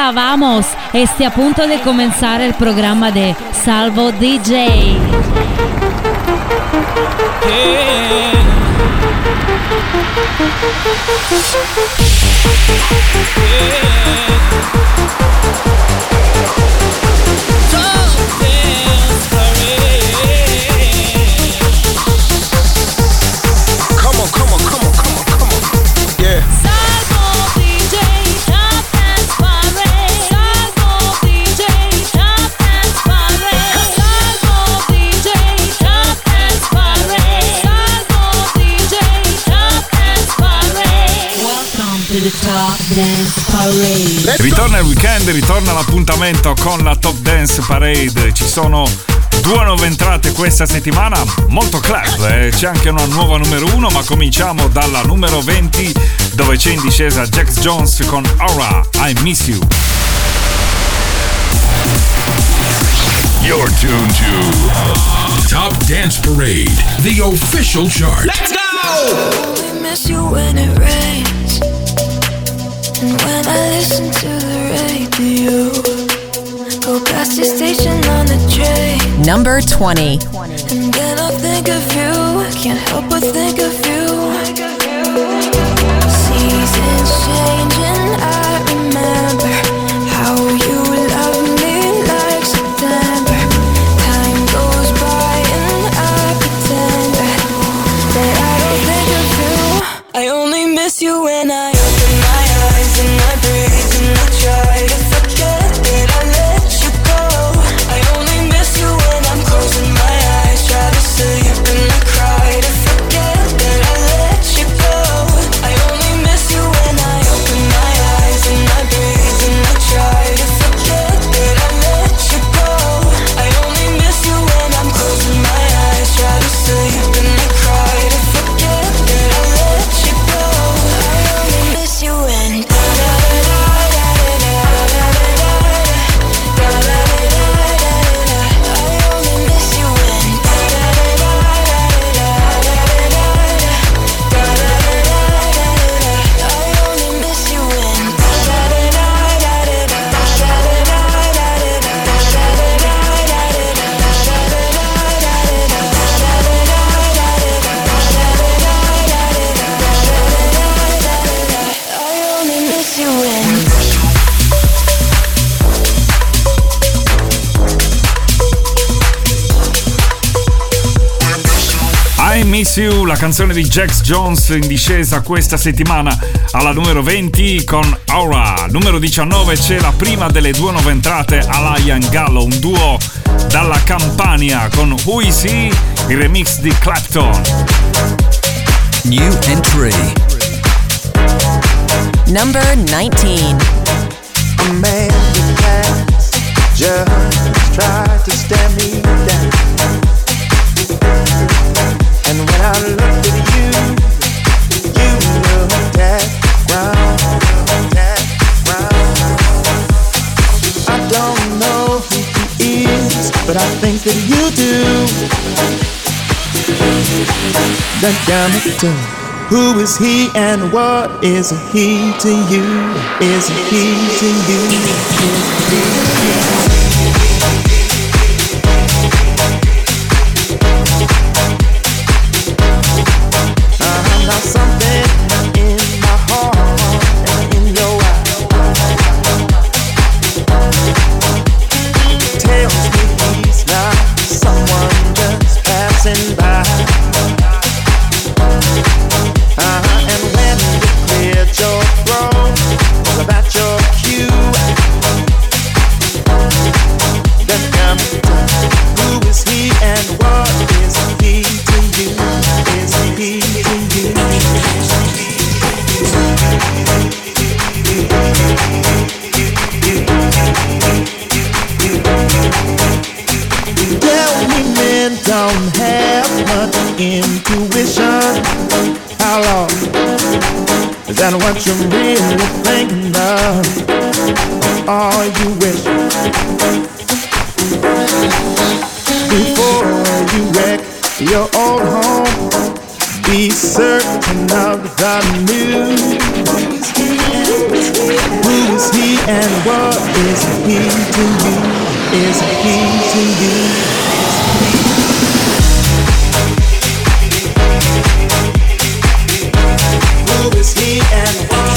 Hola, vamos. Esté a punto de comenzar el programa de Salvo DJ. Ritorna il weekend, ritorna l'appuntamento con la Top Dance Parade. Ci sono 2 nuove entrate questa settimana, molto club, c'è anche una nuova numero 1, ma cominciamo dalla numero 20 dove c'è in discesa Jax Jones con Aura, I Miss You. You're tuned to Top Dance Parade, the official chart. Let's go! I miss you when it rains, and when I listen to the radio, go past your station on the train. Number 20. And then I think of you, I can't help but think of you. Seasons change and I remember how you loved me like September. Time goes by and I pretend that I don't think of you. I only miss you when I open my eyes and I breathe and I try to forget that I let you go. I only miss you when I'm closing my eyes, try to sleep and I cry to forget that I let you go. I only miss you when I open my eyes and I breathe and I try to forget that I let you go. I only miss you when I'm closing my eyes, try to sleep and I cry to forget that I let you go. I only miss you when I Miss You, la canzone di Jax Jones in discesa questa settimana alla numero 20 con Aura. Numero 19 c'è la prima delle 2 nuove entrate, Alain Gallo, un duo dalla Campania con Who Is He, il remix di Clapton. New entry. Number 19. A man who has just tried to stand me down. And when I looked at you looked at ground. I don't know who he is, but I think that you do. That damn it do. Who is he and what is he to you? Is he to you? Is he to you? Something in my heart and in your eyes tells me he's not someone just passing by. And when you cleared your throat, all about your cue, then come who is he and what is he to you? Is he to you? Tell me men don't have much intuition. How long? Is that what you're really thinking of? Or you wish before you wreck your old home, be certain of the news. Who is he and what is he to you? Is he to you? Who is he and what?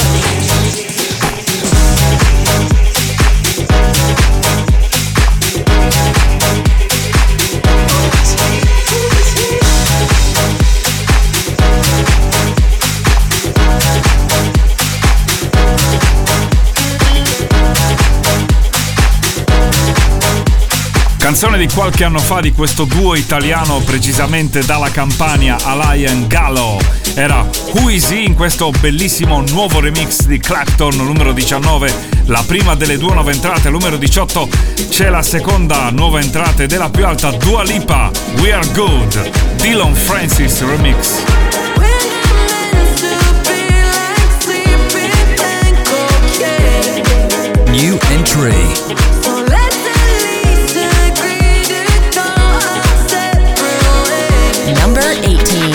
Canzone di qualche anno fa di questo duo italiano, precisamente dalla Campania, Alain Gallo. Era Who Is He in questo bellissimo nuovo remix di Clapton, numero 19, la prima delle due nuove entrate. Numero 18 c'è la seconda nuova entrata ed è la più alta, Dua Lipa, We Are Good, Dillon Francis remix. New entry. Number 18.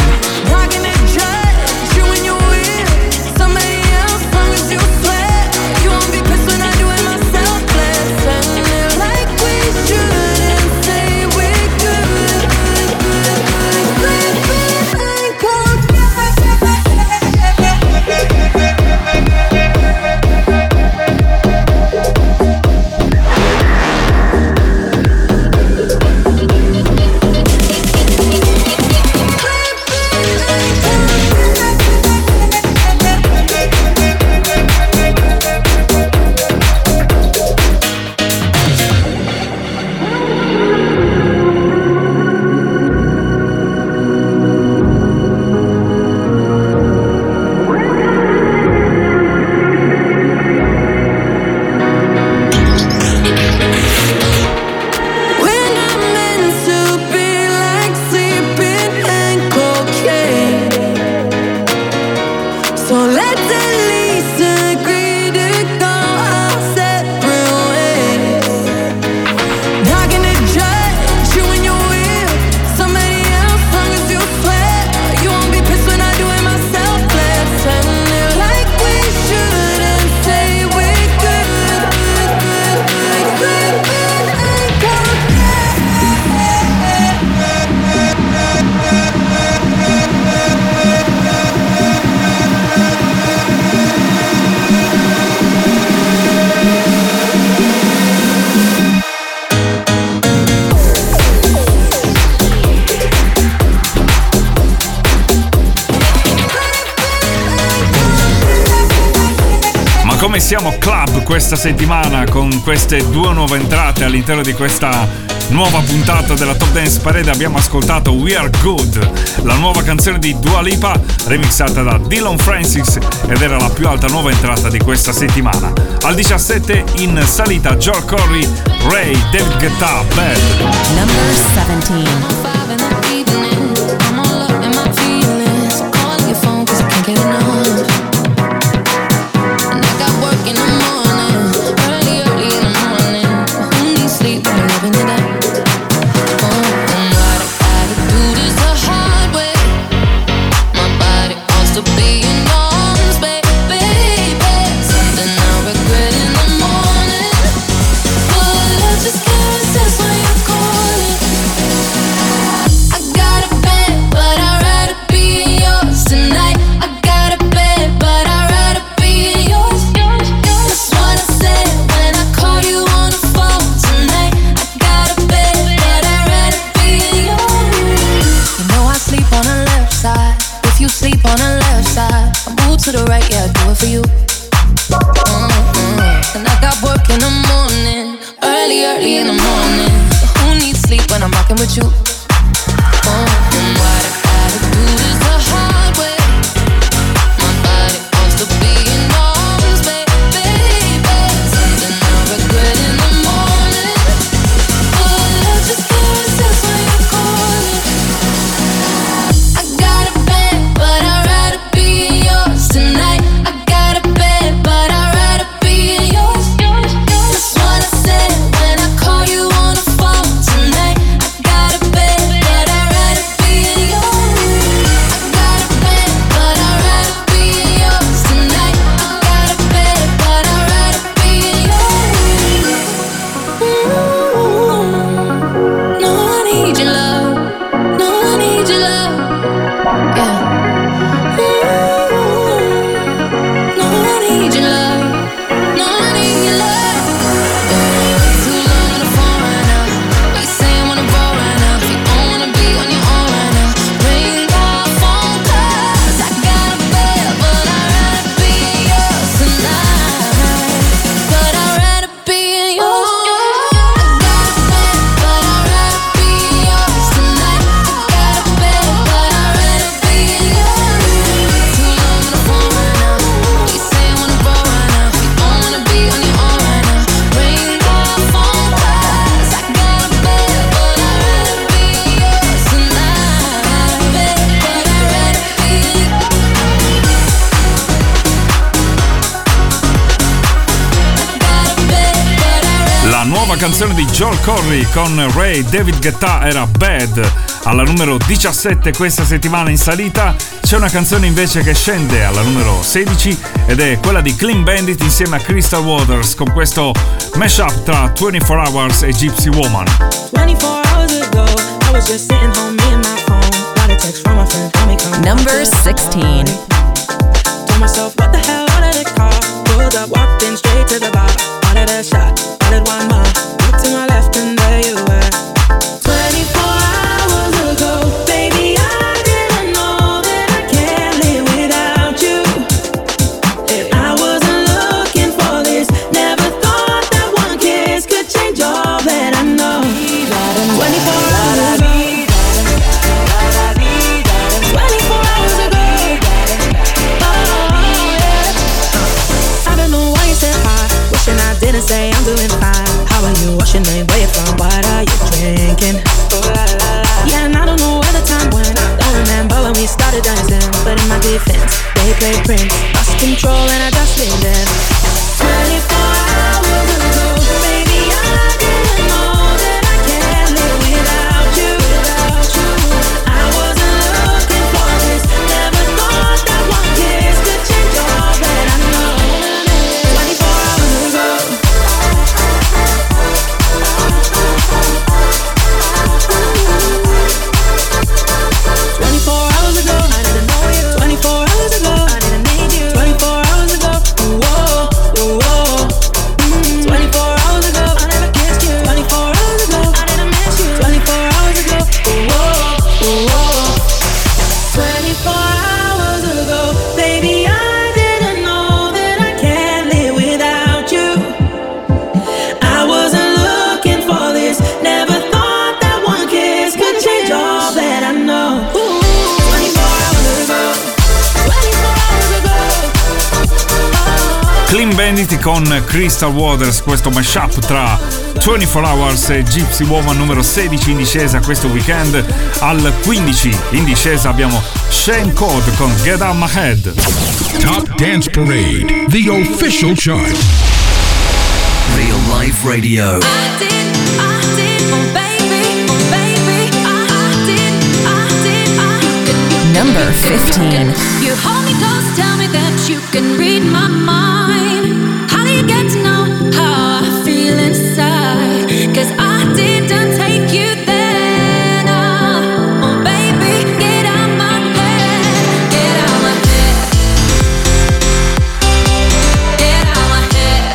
Come siamo club questa settimana con queste due nuove entrate all'interno di questa nuova puntata della Top Dance Parade. Abbiamo ascoltato We Are Good, la nuova canzone di Dua Lipa remixata da Dillon Francis, ed era la più alta nuova entrata di questa settimana. Al 17 in salita Joel Corry, Ray, David Guetta, Bad. Number 17. Bed. La nuova canzone di Joel Corry con Ray David Guetta era Bad. Alla numero 17 questa settimana in salita c'è una canzone invece che scende alla numero 16 ed è quella di Clean Bandit insieme a Crystal Waters con questo mashup tra 24 Hours e Gypsy Woman. 24 hours ago, I was just sitting home, me and my phone. Got a text from my friend, tell me come Number 16. Told myself, what the hell, ordered a car. Pulled up, walked in straight to the bar. Ordered a shot, ordered one more. Looked to my left and there you were. 24 hours ago, baby, I didn't know that I can't live without you. I wasn't looking for this, never thought that one kiss could change all that I know. 24 hours ago. 24 hours ago. Oh, yeah. I don't know why you said hi, wishing I didn't say I'm doing fine. How are you? What's your name? Where you from? What are you drinking? Yeah, and I don't know where the time went. Don't remember when we started dancing, but in my defense, they played Prince. Lost control and I just lived in 24 hours ago, baby, I didn't know that I can't live without you. I wasn't looking for this, never thought that one kiss could change all that I know. 24 hours ago. 24 hours ago, I didn't know you. 24 hours ago, I didn't need you. 24 hours ago, whoa, whoa. 24 hours ago, I never kissed you. 24 hours ago, I didn't miss you. 24 hours ago, whoa, whoa. 24 hours ago, baby, I didn't know that I can't live without you. I wasn't looking for this, never thought that one kiss could change all that I know. 24 hours ago, 24 hours ago. Clean Bandit con Crystal Waters, questo mashup tra 24 Hours e Gypsy Woman, numero 16 in discesa questo weekend. Al 15 in discesa abbiamo Shane Code con Get Out My Head. Top Dance Parade, the official chart. Real Life Radio. I did, oh baby, Number 15. You hold me close, tell me that you can read my mind. How do you get to know how I feel inside? 'Cause I didn't take you there, no. Oh baby, get out my head, get out my head, get out my head,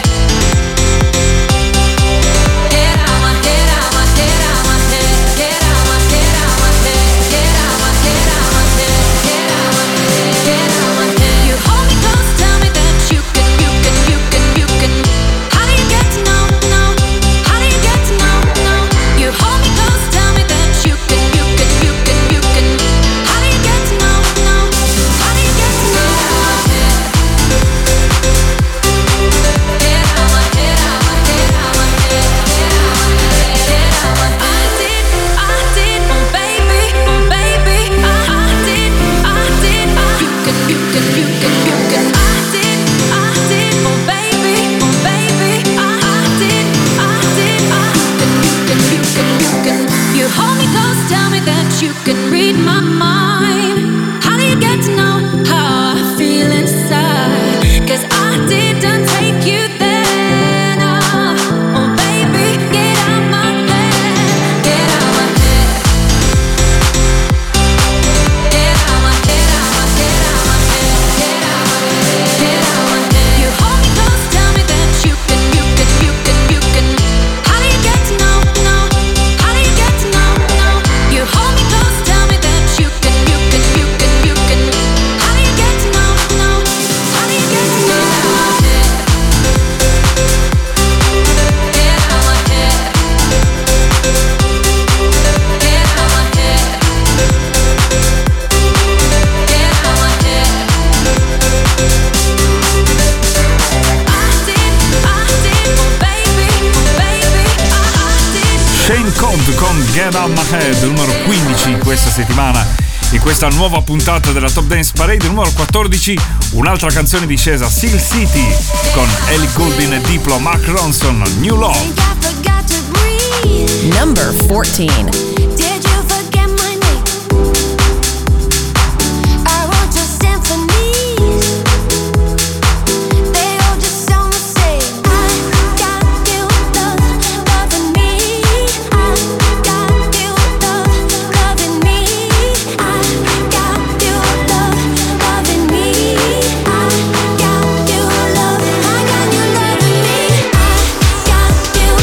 get out my head, out my head, out my head, get out my head, out my head, get out my head, out my head, get out my head, get out my head. You hold me close, tell me that you can. How do you get to know? How do you get to know? You hold me close, tell me that you can. How do you get to know? How do you get to know? Get out my head, out my head, out my head, get out my head, get out my head. I did, oh baby, I did. You can. I did, oh baby, I did. You can. You hold me close, tell me that you can read my mind. How do you get to know how I feel inside? 'Cause I didn't take you there, no. Oh baby, get out my head, get out my head, get out my head, out my head, out my head, get out my head, get out my head. You hold me close, tell me that you can. How do you get to know? How do you get to know? You hold me close, tell me that you can. How do you get to know? How do you get to know? Get out my head, get out my head, get out my head. I did, oh baby, I did. Shane Code con Get Out My Head, numero 15 questa settimana in questa nuova puntata della Top Dance Parade. Numero 14, un'altra canzone discesa, Seal City con Ellie Goulding e Diplo, Mark Ronson, New Love. Number 14. Did you forget my name? I wrote your symphonies. They all just sound the same. I got you loving me. I got you loving me. I got you loving me. I got you loving me. I got you loving me. I got you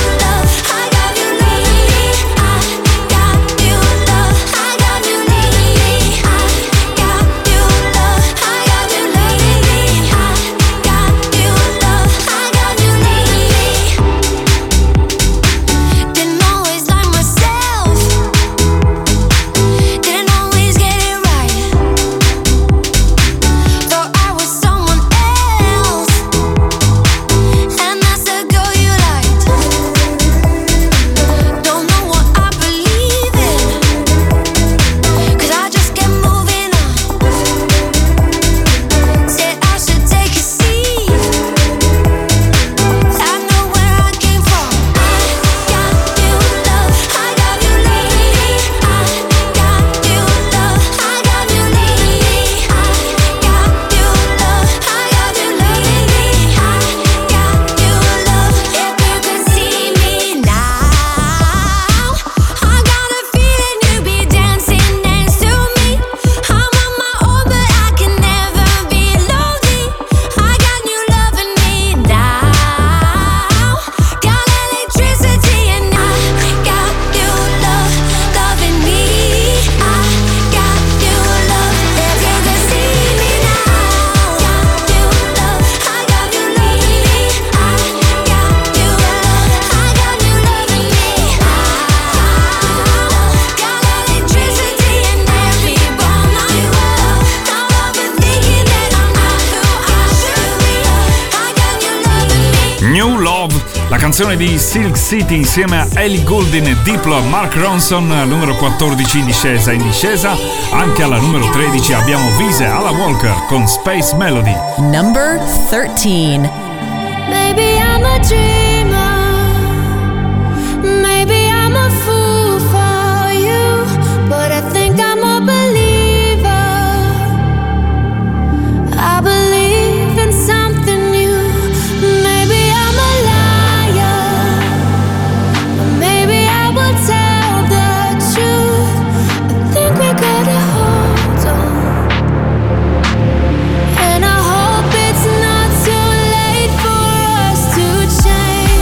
La canzone di Silk City insieme a Ellie Goulding e Diplo, Mark Ronson, numero 14 in discesa. In discesa anche alla numero 13 abbiamo Vise Alla Walker con Space Melody. Number 13. Maybe I'm a dreamer, maybe I'm a fool for you, but I think I'm a believer. I believe in something new. Maybe I'm a liar, maybe I will tell the truth. I think we gotta hold on, and I hope it's not too late for us to change.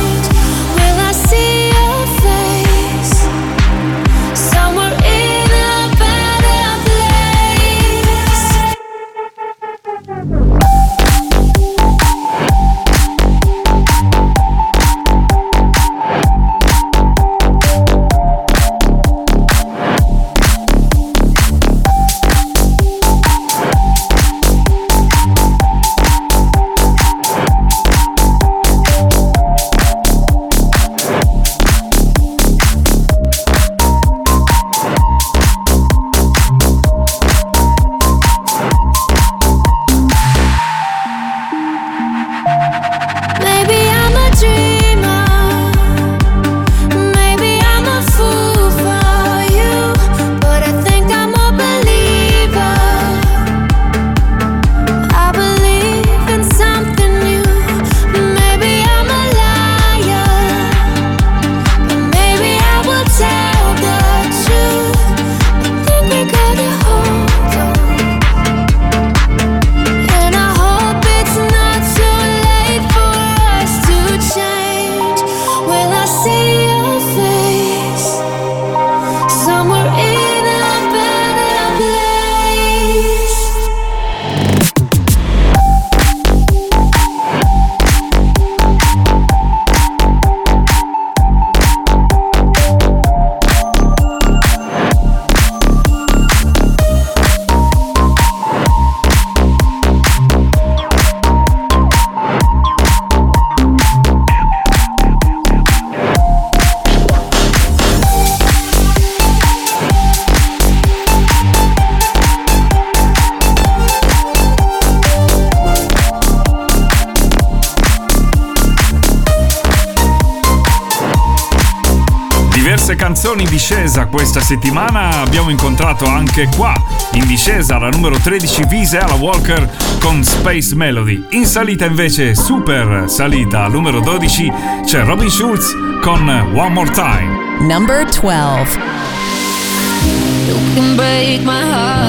Diverse canzoni in discesa questa settimana. Abbiamo incontrato anche qua in discesa alla numero 13 Vise Walker con Space Melody. In salita invece, super salita, al numero 12 c'è Robin Schulz con One More Time. Number 12. You can break my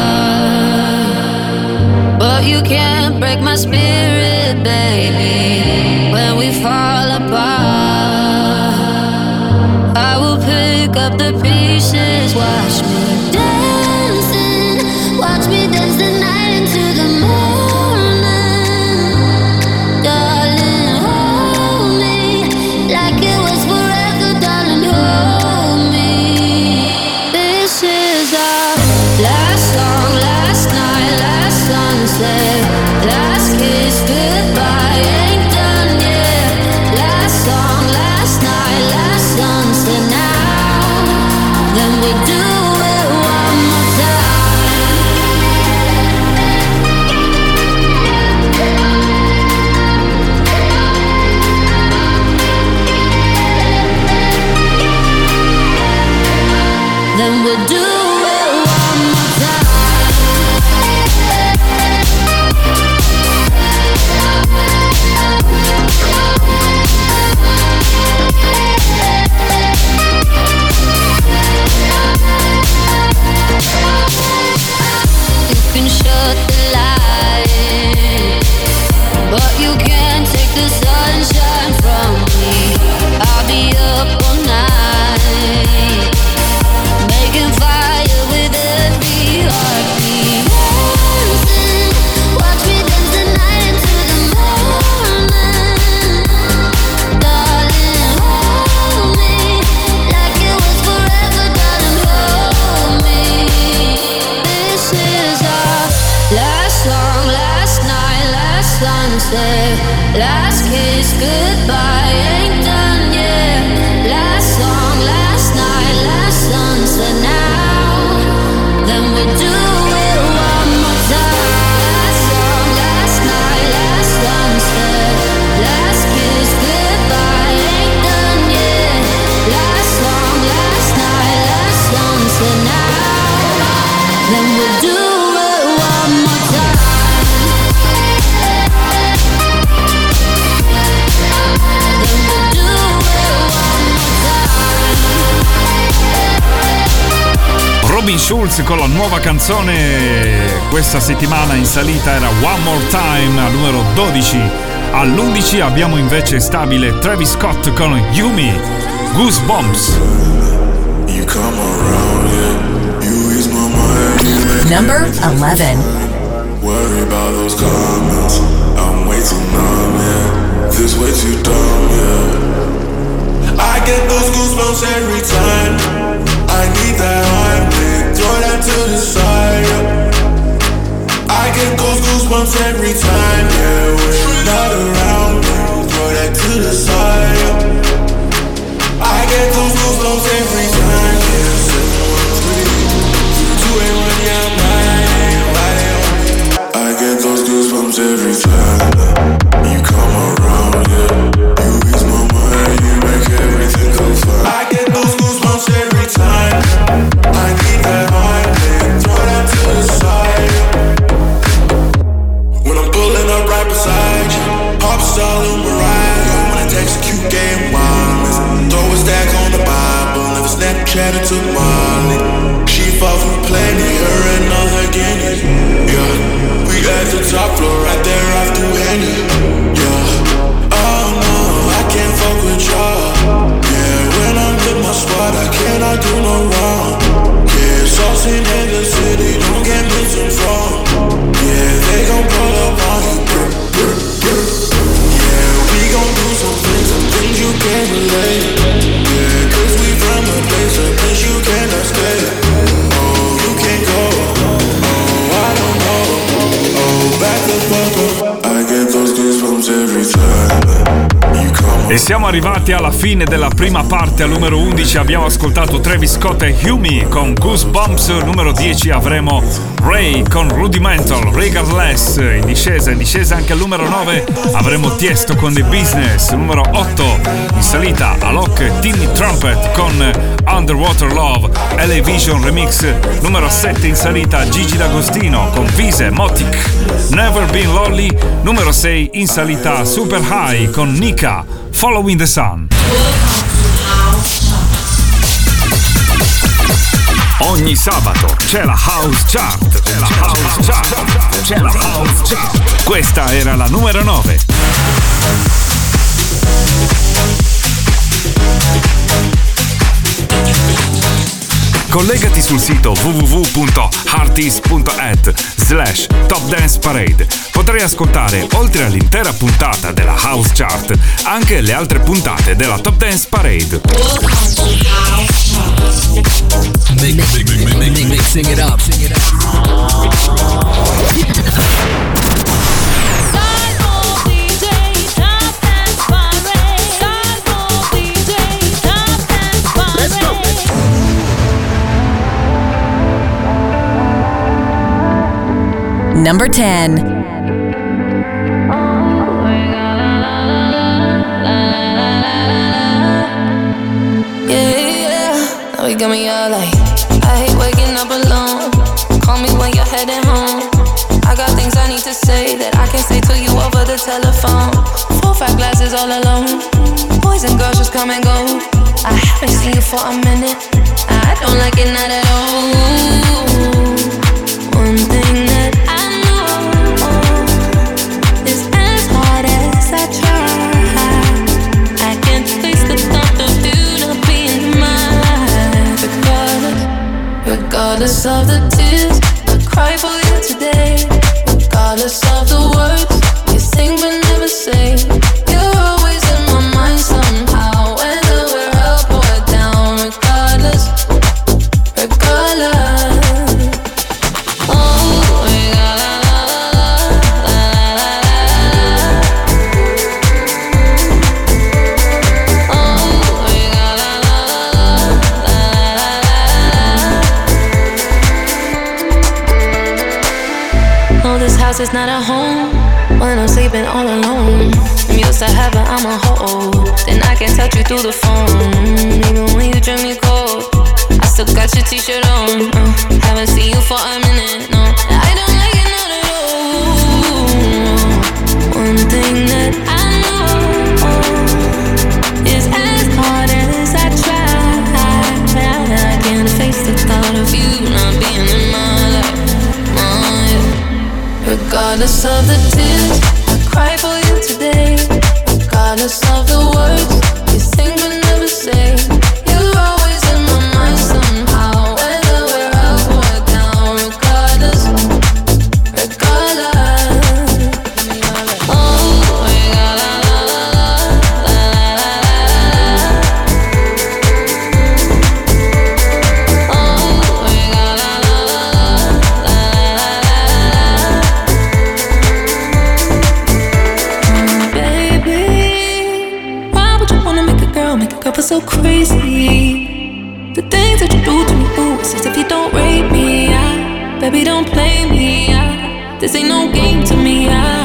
heart, but you can't break my spirit, baby. When we fall apart, I will pick up the pieces. Watch me dancing, watch me dance the night into the morning. Darling, hold me like it was forever, darling, hold me. This is our last song, last night, last sunset, last kiss, goodbye, ain't done yet. Last song, last night, last sunset, now, then we do it one more time. Then we'll do it one more time. You can shut the light, but you can't take the sunshine from me. I'll be up all night, making fire with every heartbeat. Dancing, watch me dance the night into the morning. Darling, hold me like it was forever, darling, hold me. This is our last song, last night, last sunset, last kiss, goodbye, ain't done yet. Last song, last night, last sunset, now, then we do it one more time. Last song, last night, last sunset, last kiss, goodbye, ain't done yet. Last song, last night, last sunset, now, then we do it one more time. Robin Schulz con la nuova canzone questa settimana in salita era One More Time al numero 12. All'11 abbiamo invece stabile Travis Scott con Yumi, Goosebumps. You come around, yeah. You ease my mind, you make Number 11. Worry about those comments. I'm way too numb, yeah. This way too dumb, yeah. I get those goosebumps every time. I need that heartbeat, throw that to the side, yeah. I get those goosebumps every time, yeah. When you're not around, throw that to the side, yeah. I get those goosebumps every time, yeah. 713-281, yeah, I'm riding. I get those goosebumps every time you come around, yeah. You ease my mind, you make everything go fine. I get those goosebumps every time. I need that heartbeat, throw that to the side. When I'm pulling up right beside you, pop star Lil Mariah. When I execute game wireless, throw a stack on the Bible, never Snapchat it to Molly. She fought for plenty, her and other guineas. Yeah, we at the top floor, right there after Henny. Yeah, oh no, I can't fuck with y'all. Yeah, when I'm with my squad, I cannot do no wrong. Yeah, saucing in the city, don't get misinformed. Yeah, they gon' pull up on you. Yeah, we gon' do some things you can't relate. Yeah, cause we from a place you cannot stay. Oh, you can't go. Oh, I don't know. Oh, back the fuck up. I get those goosebumps every time you come E siamo arrivati alla fine della prima parte. Al numero 11 abbiamo ascoltato Travis Scott e Hume con Goosebumps. Numero 10 avremo Ray con Rudimental, Regardless. In discesa anche al numero 9 avremo Tiesto con The Business. Numero 8 in salita Alok e Timmy Trumpet con Underwater Love, LA Vision Remix. Numero 7 in salita Gigi D'Agostino con Vise, Motic, Never Been Lonely. Numero 6 in salita Super High con Nika, Following the Sun. Ogni sabato c'è la House Chart. Questa era la numero 9. Collegati sul sito www.artist.at/Top Dance Parade. Potrai ascoltare, oltre all'intera puntata della House Chart, anche le altre puntate della Top Dance Parade. Mixing it up. Let's go. Number 10. Now you got me all like, I hate waking up alone. Call me when you're heading home. I got things I need to say that I can't say to you over the telephone. 4 or 5 glasses all alone. Boys and girls just come and go. I haven't seen you for a minute. I don't like it, not at all. One thing that I know is as hard as I try, I can't face the thought of you not being mine. Regardless of the tears I cry for you today, regardless of the words you sing but never say, you're always in my mind somehow, whether we're up or down. Regardless. It's not a home when I'm sleeping all alone. I'm used to having I'm a hoe. Then I can touch you through the phone. Even when you drink me cold, I still got your t-shirt on. Haven't seen you for a minute, no. I don't like it, not at all. One thing that I know is as hard as I try, I can't face the thought of you not being in my life. Regardless of the tears I cry for you today, regardless of the words you sing but never say, you're always in my mind somehow, whether we're up or down. Regardless. Oh, feel so crazy. The things that you do to me, ooh, it's as if you don't rate me. Baby, don't play me. This ain't no game to me.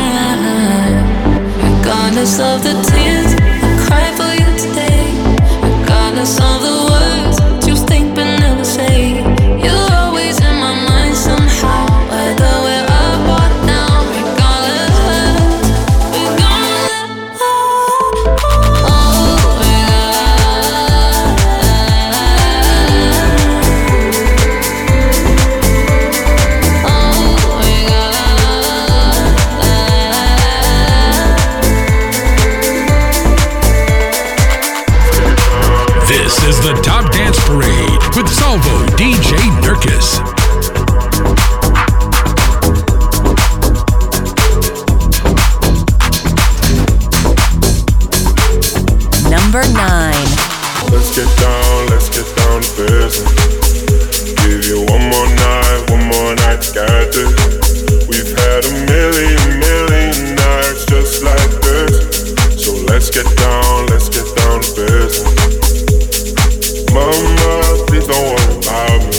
Regardless of the tears I cry for you today, regardless of the words you think but never say, you're always in my mind somehow, whether we're up or down. Regardless. This is the Top Dance Parade with Salvo DJ Nurkis. Number 9. Let's get down to business. Give you one more night to get this. We've had a million nights just like this. So let's get down to business. Mama, please don't worry about me.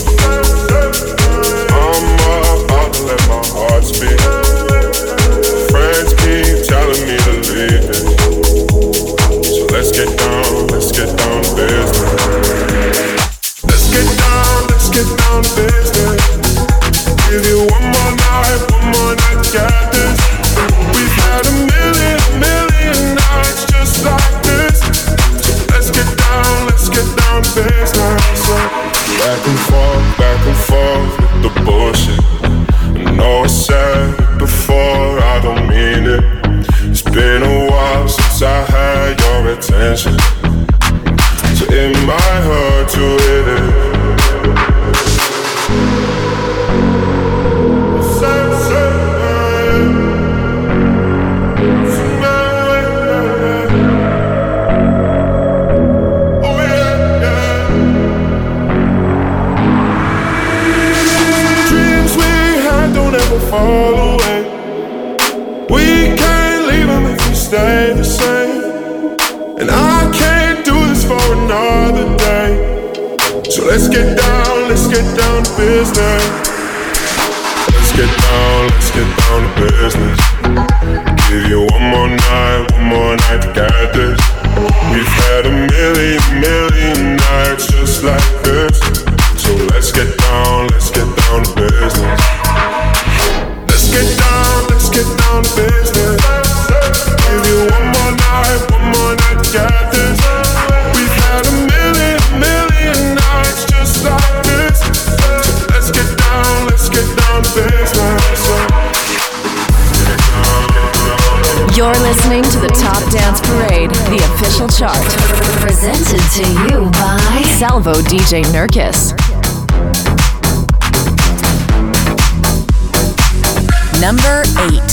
I'm about to let my heart speak. Friends keep telling me to leave this. So let's get down to business. Let's get down to business. Give you one more night, got this. We've had a million nights just like this. So let's get down to business. Back and forth with the bullshit. I know I said it before, I don't mean it. It's been a while since I had your attention, so it might hurt to hit it. Fall away. We can't leave them if we stay the same. And I can't do this for another day. So let's get down to business. Let's get down to business. Give you one more night to get this. We've had a million nights just like this. So let's get down to business. Let's get down to business. Give you one more night to get this. We've had a million nights just like this. So let's get down to business. You're listening to the Top Dance Parade, the official chart. Presented to you by Salvo DJ Nurkis. Number 8.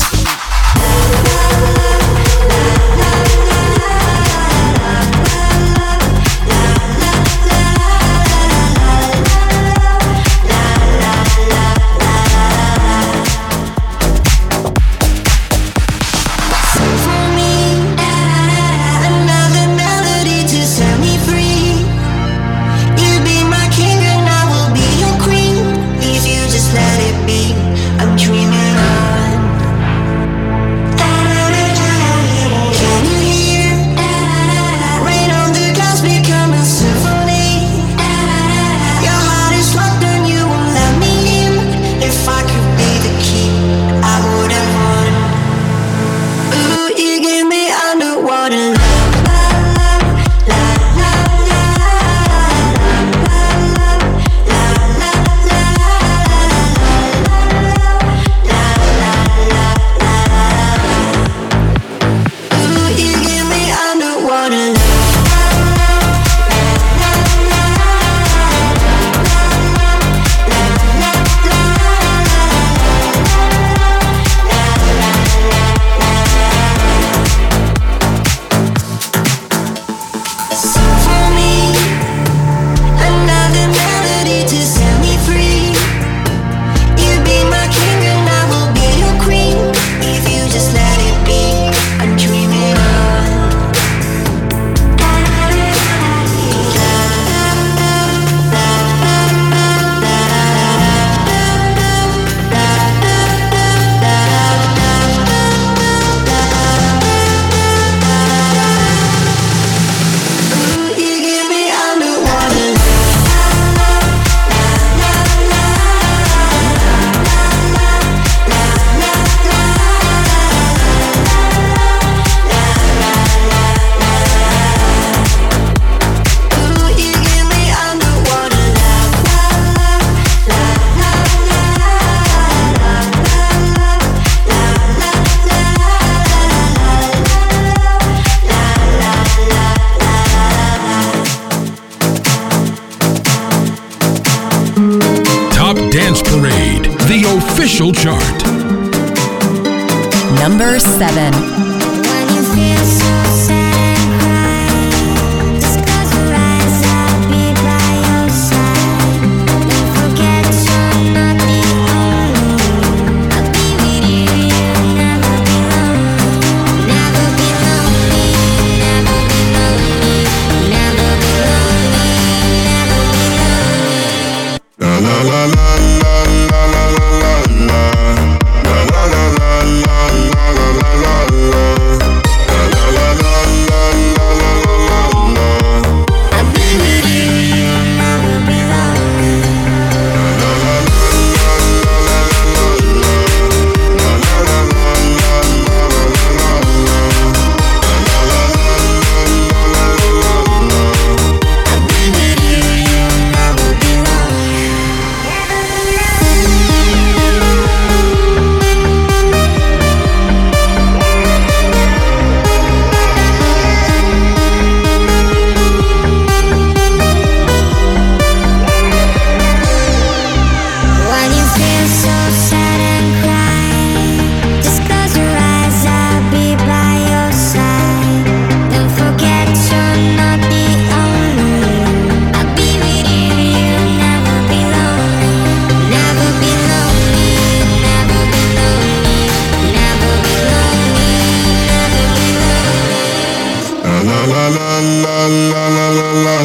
Official chart. Number 7. Never be lonely.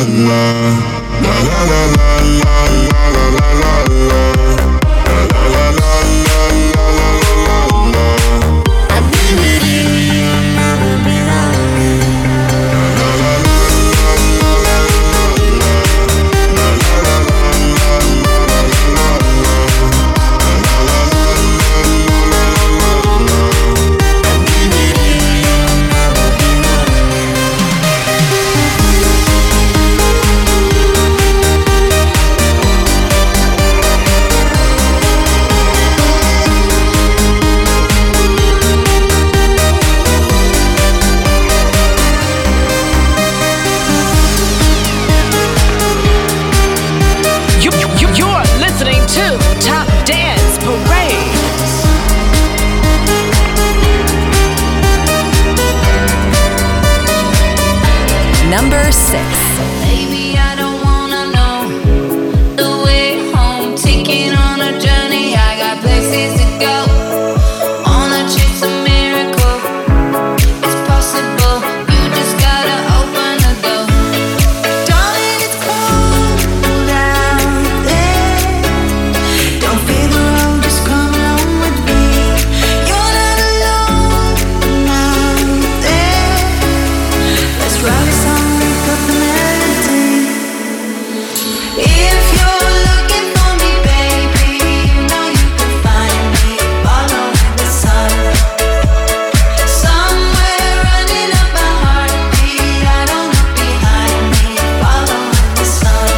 Number 6. Baby, I don't wanna know the way home. Taking on a journey, I got places to go. Wanna chase a miracle, it's possible. You just gotta open the door. Darling, it's cold out there. Don't feel the road, just come along with me. You're not alone out there. Let's ride this song. If you're looking for me, baby, you know you can find me following the sun. Somewhere running up my heartbeat, I don't look behind me, following the sun.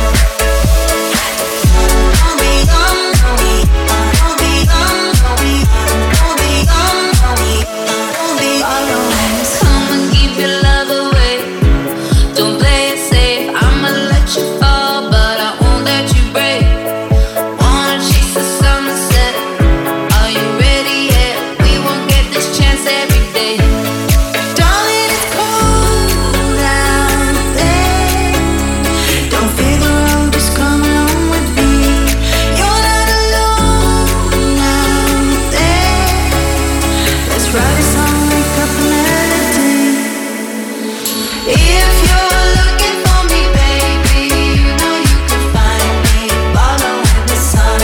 Don't be gone, don't be gone, don't be gone, don't be gone, don't be gone, don't be following the sun. Come and keep your love away. Don't play it safe, I'ma let you fall, but I won't let you break. Wanna chase the sunset, are you ready yet? We won't get this chance every day. Darling, it's cold out there. Don't fear the road, just come along with me. You're not alone out there. Let's write a song, make up a melody. If you're looking for me, baby, you know you can find me following the sun.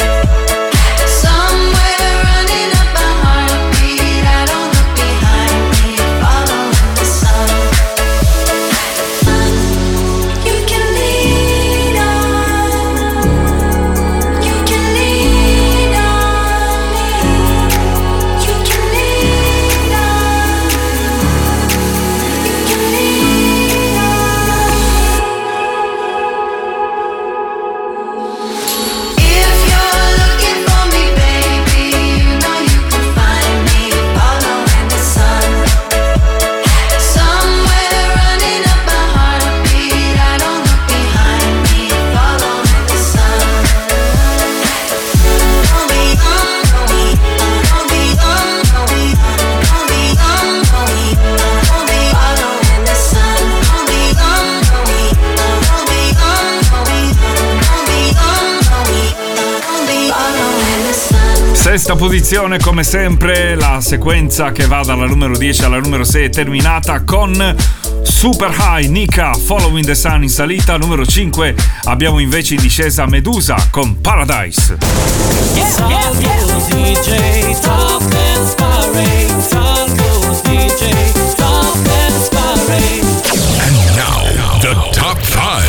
Somewhere running up my heartbeat, I don't look behind me, following the sun. You can lean on, you can lean on me, you can lean on, you can lean on. If you're looking for me, baby, you know you can find me following the sun. Somewhere running up my heartbeat, I don't look behind me, following the sun. Don't be gone, don't be gone, don't be gone, don't be gone, don't be gone, don't be gone, don't be following the sun. Don't be gone, don't be gone, don't be gone, don't be gone, don't be gone, don't be gone, don't be following the sun. Sesta posizione, come sempre, la sequenza che va dalla numero 10 alla numero 6 è terminata con Super High, Nika, Following the Sun in salita. Numero 5 abbiamo invece in discesa Medusa con Paradise. DJ, Top Dance Parade. Salvo's DJ, Top Dance Parade. And now, the top 5.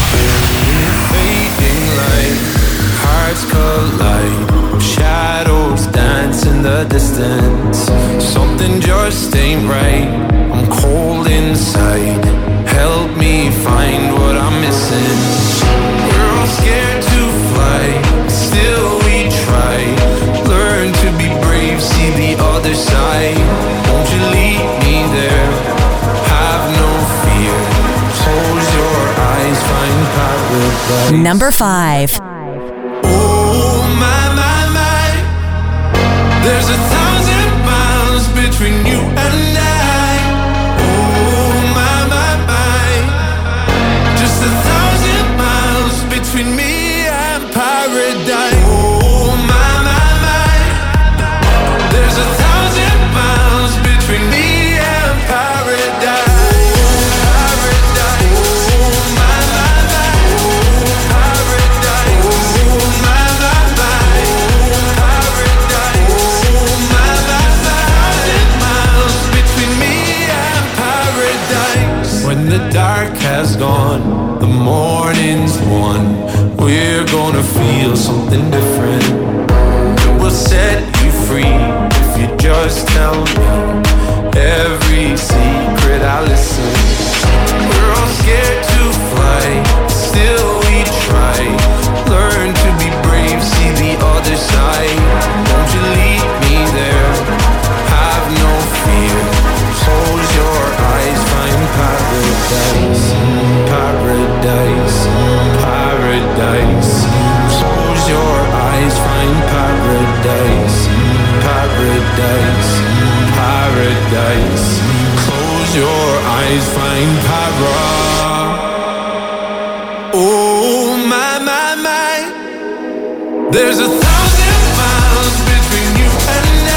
Fading light, hearts collide, shadows dance in the distance. Something just ain't right, I'm cold inside. Help me find what I'm missing. We're all scared to fly, still we try. Learn to be brave, see the other side. Won't you lead me there? Have no fear. Close your eyes, find paradise. Number 5. Oh my, my, my. There's 1,000 miles between you and I. Oh my, my, my. Just 1,000 miles between me and paradise. Oh my, my, my. There's 1,000 miles between me and paradise. Paradise. Oh my, gone, the morning's won. We're gonna feel something different. We'll set you free if you just tell me every secret I listen. We're all scared to fly, still we try. Learn to be brave, see the other side. Won't you lead me there? Have no fear. Close your eyes, find paradise, paradise, paradise. Close your eyes, find paradise, paradise, paradise. Close your eyes, find paradise. Oh my, my, my. There's 1,000 miles between you and I.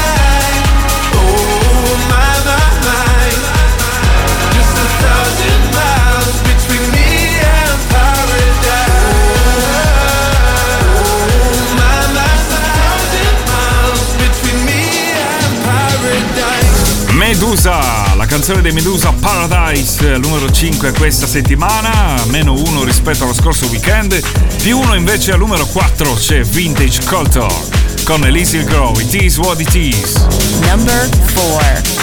Oh my, my, my. Just 1,000 miles between me and paradise. Oh my, my, 1,000 miles between me and paradise. Medusa, la canzone dei Medusa, Paradise, numero 5 questa settimana, meno 1 rispetto allo scorso weekend, più 1 invece al numero 4 c'è Vintage Culture con Elise Grow, It Is What It Is. Number 4.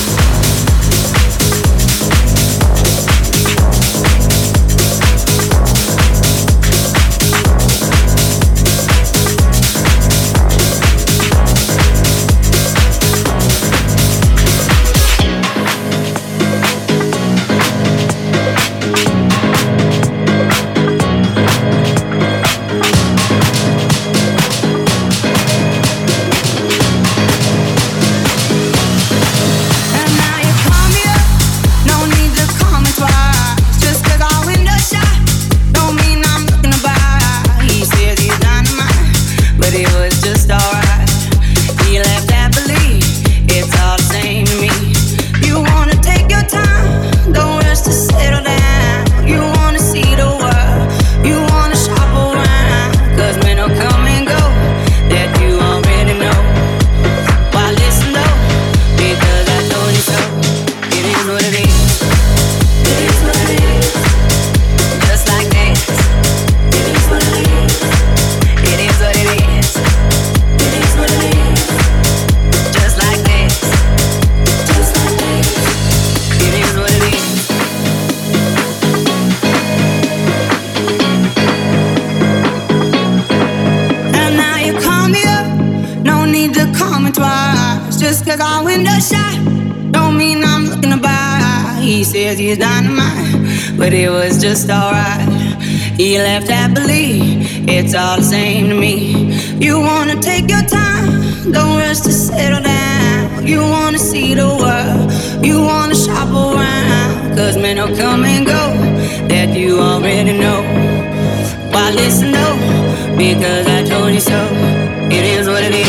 He's dynamite, but it was just alright. He left happily, it's all the same to me. You wanna take your time, don't rush to settle down. You wanna see the world, you wanna shop around. Cause men will come and go, that you already know. Why listen though, because I told you so. It is what it is,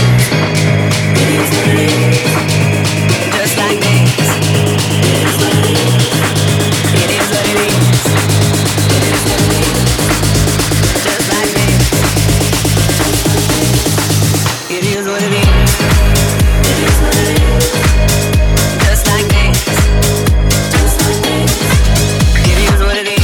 it is what it is. Just like this, it is what it is. It is what it is. It is what it is. Just like this. It is what it is. It is what it is. Just like this. Just like this. It is what it is.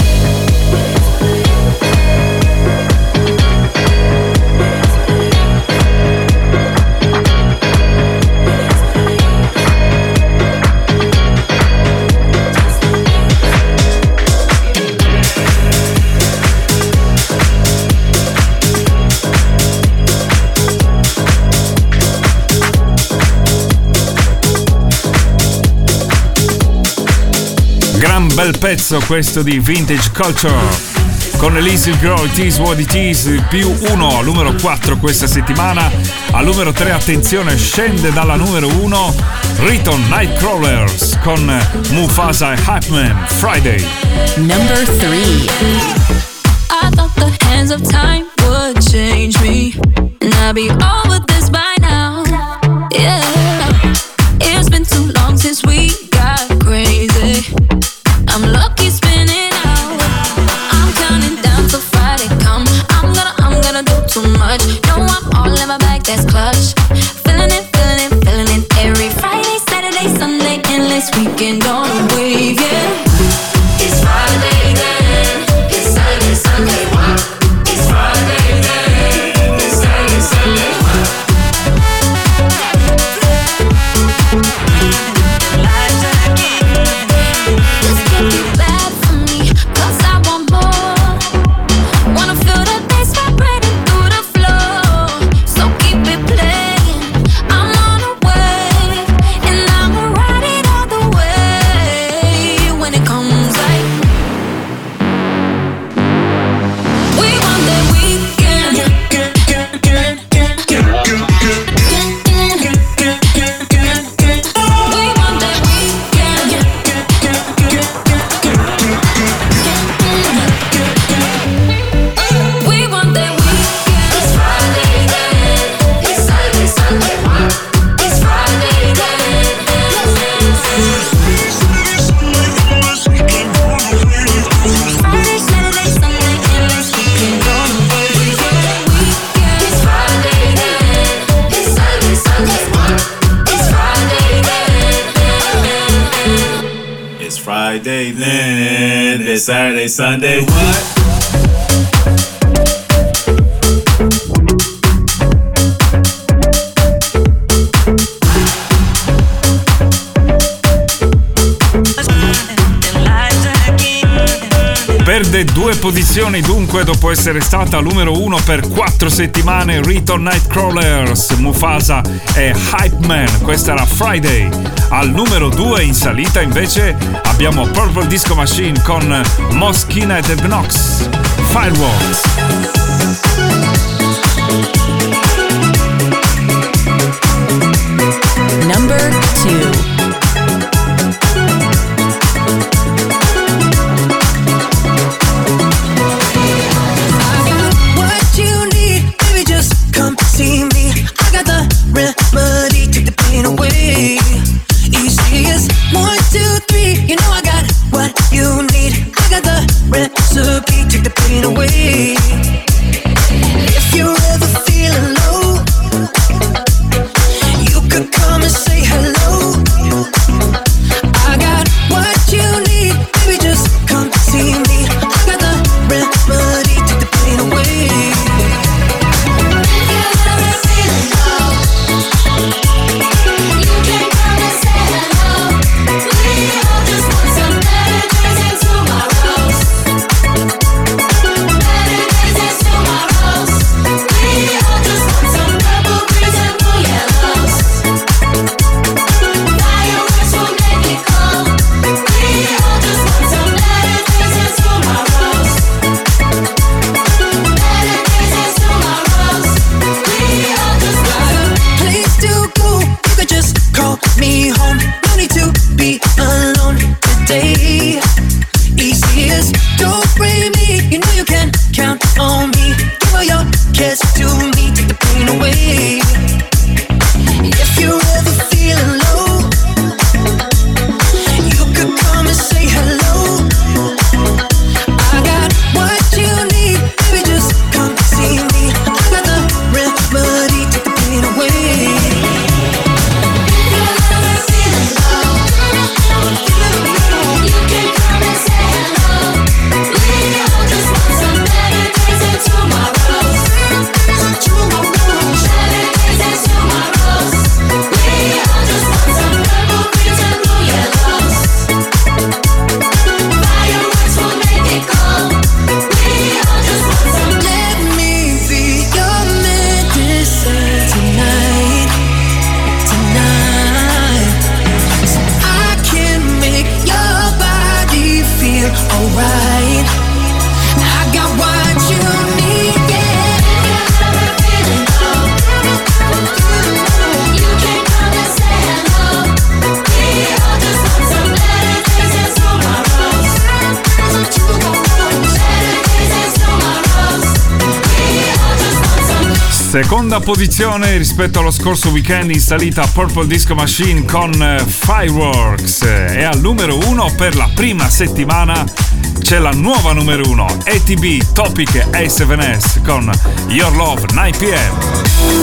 Gran bel pezzo questo di Vintage Culture con Elise Grow, It Is What It Is, più 1 al numero 4 questa settimana. Al numero 3, attenzione, scende dalla numero 1 Riton Nightcrawlers con Mufasa e Hypeman, Friday. Number 3. I thought the hands of time would change me, and I'd be over this by now. Yeah, it's been too long since we got crazy. I'm lucky spinning out. I'm counting down till Friday come. I'm gonna do too much. No, I'm all in my bag, that's clutch. Feeling it, feeling it, feeling it. Every Friday, Saturday, Sunday, endless weekend on a wave, yeah. It's Friday, yeah. Friday, then Saturday, Sunday, what? Perde 2 posizioni dunque dopo essere stata numero 1 per 4 settimane. Riton Nightcrawlers, Mufasa e Hype Man, questa era Friday. Al numero 2 in salita invece abbiamo Purple Disco Machine con Moschina e Knox, Fireworks. Number 2. Remedy, take the pain away. Easy as 1, 2, 3. You know I got what you need. I got the recipe, take the pain away. If you're ever feeling low, you could come and say hello. I got what you need, baby, just come see me. I got the remedy, take the pain away. Me home, no need to be alone today. Easy as don't blame me, you know you can count on me. Give all your cares to me, take the pain away. If you're ever feeling low, you could come and say hello. I got what you need, baby, just come see me. I got the remedy, take the pain away. Seconda posizione rispetto allo scorso weekend in salita Purple Disco Machine con Fireworks. E al numero 1 per la prima settimana c'è la nuova numero 1, ATB Topic e A7S con Your Love 9 PM.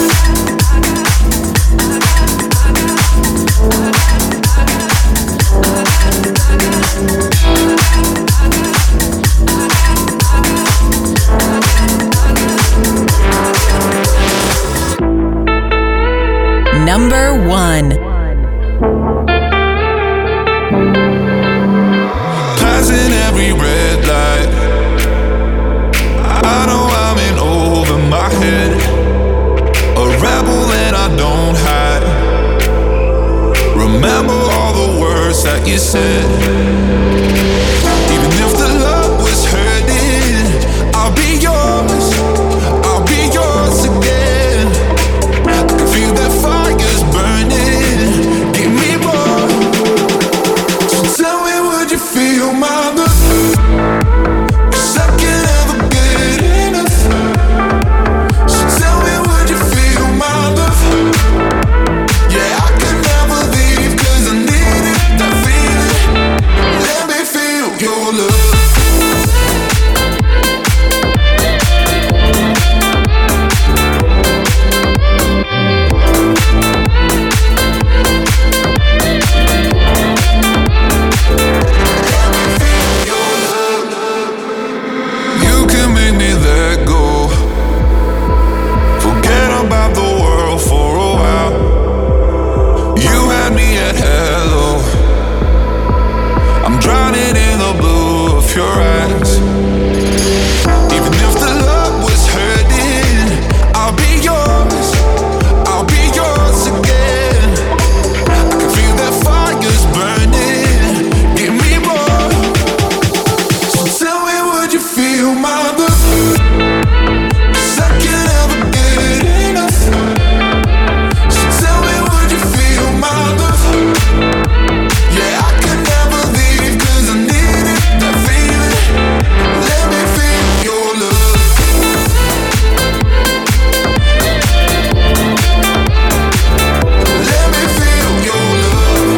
Number 1. Passing every red light, I know I'm in over my head. A rebel and I don't hide. Remember all the words that you said. Even if the love was hurting, I'll be yours. I'll be yours again. I can feel that fire's burning. Give me more. So tell me, would you feel my love? 'Cause I can't ever get enough. So tell me, would you feel my love? Yeah, I can never leave 'cause I need it, that feeling. my love. 'Cause I can't ever get enough. So tell me, would you feel my love? Yeah, I can never leave 'cause I need it, that feeling. Let me feel your love. Let me feel your love.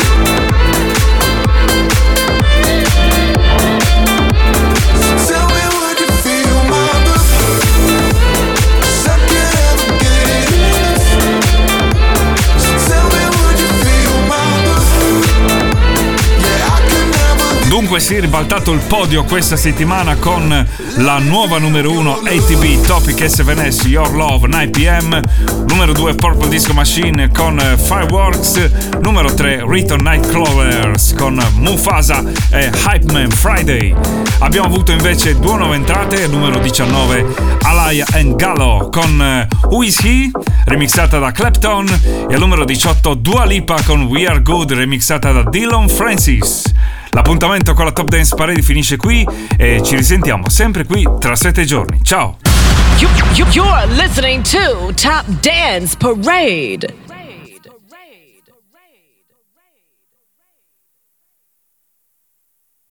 So tell me, would you feel my love? 'Cause I can't ever get enough. So tell me, would you feel my love? Yeah, I can never. Dunque si è ribaltato il podio questa settimana con la nuova numero 1 ATB Topic S7S Your Love 9pm, numero 2 Purple Disco Machine con Fireworks, numero 3 Return Nightcrawlers con Mufasa e Hype Man Friday. Abbiamo avuto invece due nuove entrate, numero 19 Alaya and Gallo con Who Is He, remixata da Clapton, e al numero 18 Dua Lipa con We Are Good, remixata da Dylan Francis. L'appuntamento con la Top Dance Parade finisce qui e ci risentiamo sempre qui tra 7 giorni. Ciao! You're listening to Top Dance Parade.